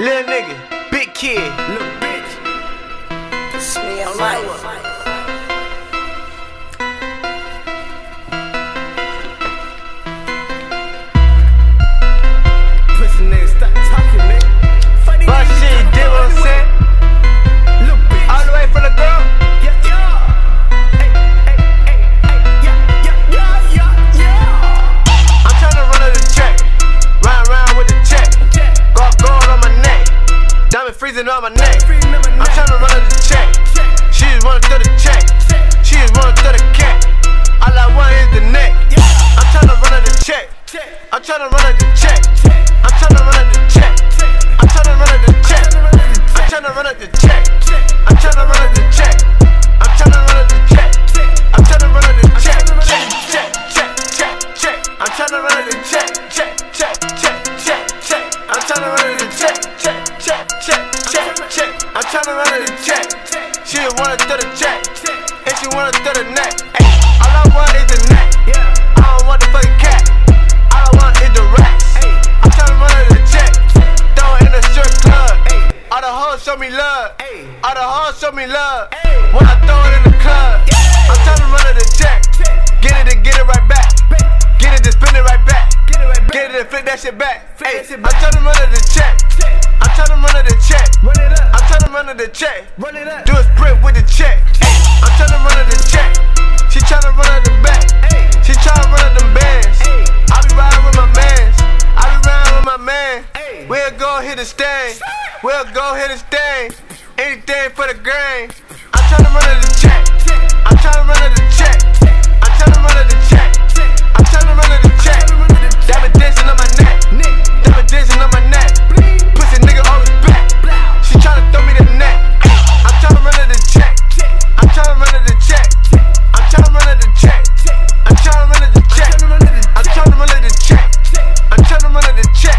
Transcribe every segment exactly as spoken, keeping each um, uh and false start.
Little nigga, big kid, little bitch. It's me and life. Pussy nigga, stop talking, nigga. Funny but shit, you did what I'm saying? Little bitch. All the way from the girl? Yeah, yeah. Hey, hey, hey, hey, yeah, yeah, yeah, yeah, yeah. I'm tryna run out the check, ride around with the check. Got gold on my neck, diamond freezing on my neck. I'm tryna run out the check. She just wanna throw the check. She just wanna throw the cat. All I want is the neck. I'm tryna run out the check. I'm tryna run out the check. I'm tryna run out the check. I'm tryna run out the check. I'm tryna run out the check. I'm tryna run out the check. I'm tryna run out the check. I'm tryna run out the check. Check, check, check, check, check. I'm tryna run out the check. Check, check, check, check, check. I'm tryna run out the check. Check, check, check, check, check. I'm tryna run out the check. She just wanna throw the check, and she wanna throw the neck. Ay, all I want is the neck. I don't want the fucking cat. All I want is the racks. I'm tryna run out the check. Throw it in the strip club. All the hoes show me love. All the hoes show me love. When I throw it in the club, I'm tryna run out the check. Get it and get it right back. Get it and spin it right back. Get it and flip that shit back. Ay, I'm tryna run out the check. I'm tryna run out the check. I'm tryna run out the check. Do a sprint with the check. Ay, I'm tryna run out the check. She tryna run out the back. She tryna run out them bands. I be riding with my mans. I be riding with my man. We'll go hit the stain. We'll go hit the stain. Anything for the grain. I'm tryna run out the check. I'm tryna run out the check. I'm tryna run out the check. I'm tryna run out the check. Diamond dancing on my neck. Diamond dancing on my neck. Pussy nigga always back. She tryna throw me the neck. I'm tryna run out the check. I'm tryna run out the check. I'm tryna run out the check. I'm tryna run out the check. I'm tryna run out the check. I'm tryna run out the check.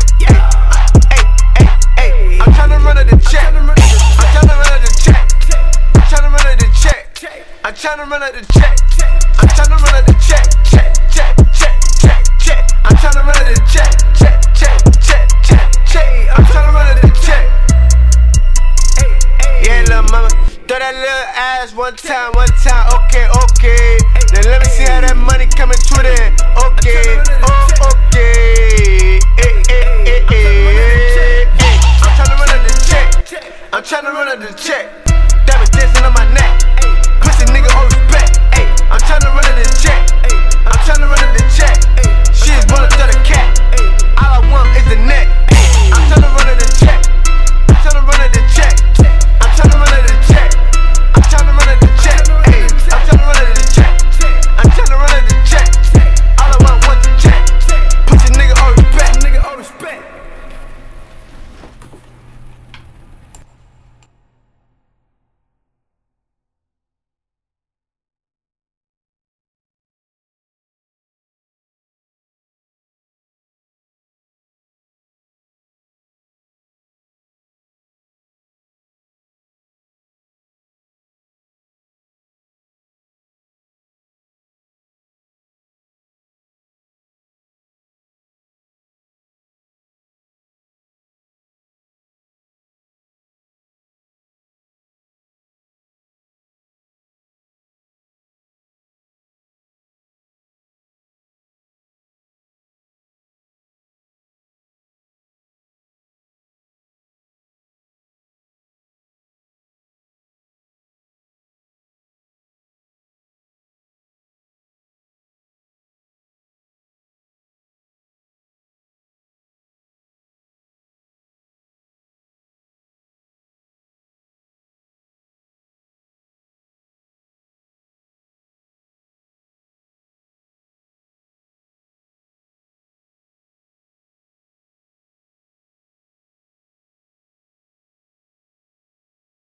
Hey, hey, hey, I'm tryna run out the check. I'm tryna run out the check. I'm tryna run out the check. I'm tryna run out the check. I'm tryna run out the check. Check, check, check, check, check. I'm tryna run out the check. Check, check, check, check, check. I'm tryna run out the check. Yeah, little mama, throw that little ass one time, one time. Okay,